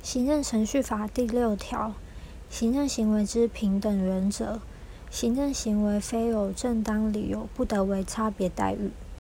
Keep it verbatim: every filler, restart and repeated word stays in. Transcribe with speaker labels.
Speaker 1: 行政程序法第六条，行政行为之平等原则，行政行为非有正当理由，不得为差别待遇。